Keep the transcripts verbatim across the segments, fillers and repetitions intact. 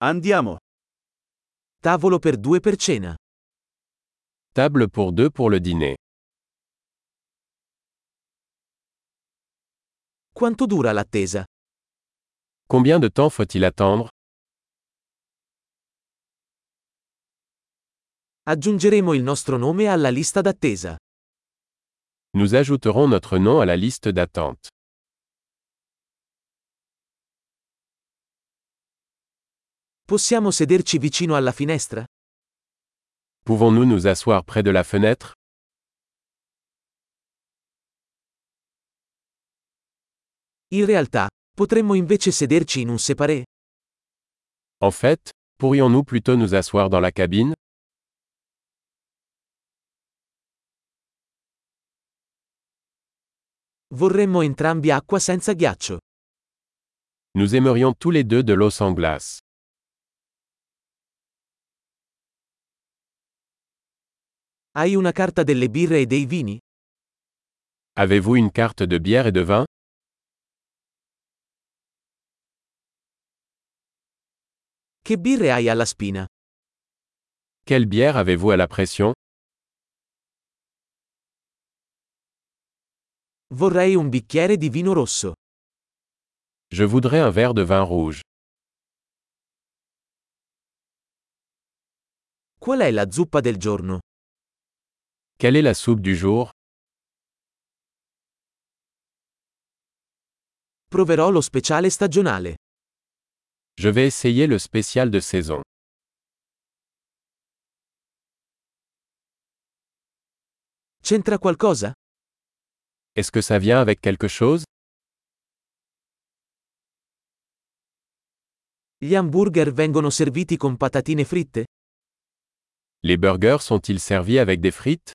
Andiamo. Tavolo per due per cena. Table pour deux pour le dîner. Quanto dura l'attesa? Combien de temps faut-il attendre? Aggiungeremo il nostro nome alla lista d'attesa. Nous ajouterons notre nom à la liste d'attente. Possiamo sederci vicino alla finestra? Pouvons-nous nous asseoir près de la fenêtre? In realtà, potremmo invece sederci in un séparé. En fait, pourrions-nous plutôt nous asseoir dans la cabine? Vorremmo entrambi acqua senza ghiaccio. Nous aimerions tous les deux de l'eau sans glace. Hai una carta delle birre e dei vini? Avez-vous une carte de bière et de vin? Che birre hai alla spina? Quelle bière avez-vous à la pression? Vorrei un bicchiere di vino rosso. Je voudrais un verre de vin rouge. Qual è la zuppa del giorno? Quelle est la soupe du jour? Proverò lo speciale stagionale. Je vais essayer le spécial de saison. C'entra qualcosa? Est-ce que ça vient avec quelque chose? Gli hamburger vengono serviti con patatine fritte? Les burgers sont-ils servis avec des frites?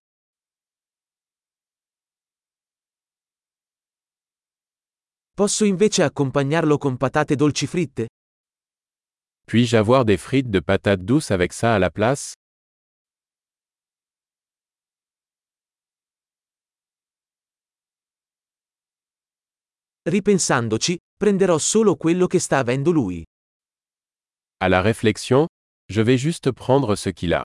Posso invece accompagnarlo con patate dolci fritte? Puis-je avoir des frites de patates douces avec ça à la place? Ripensandoci, prenderò solo quello che sta avendo lui. À la réflexion, je vais juste prendre ce qu'il a.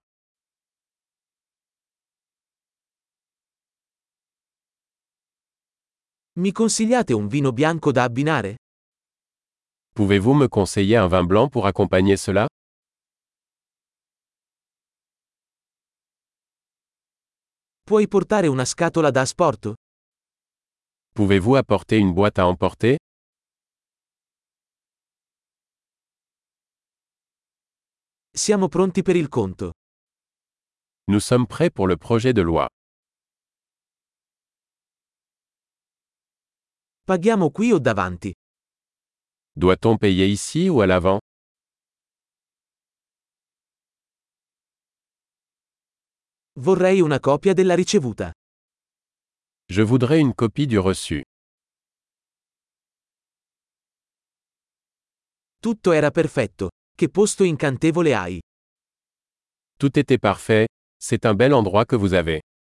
Mi consigliate un vino bianco da abbinare? Pouvez-vous me conseiller un vin blanc pour accompagner cela? Puoi portare una scatola da asporto? Pouvez-vous apporter une boîte à emporter? Siamo pronti per il conto. Nous sommes prêts pour le projet de loi. Paghiamo qui o davanti? Doit-on payer ici ou à l'avant? Vorrei una copia della ricevuta. Je voudrais une copie du reçu. Tutto era perfetto. Che posto incantevole hai. Tout était parfait, c'est un bel endroit que vous avez.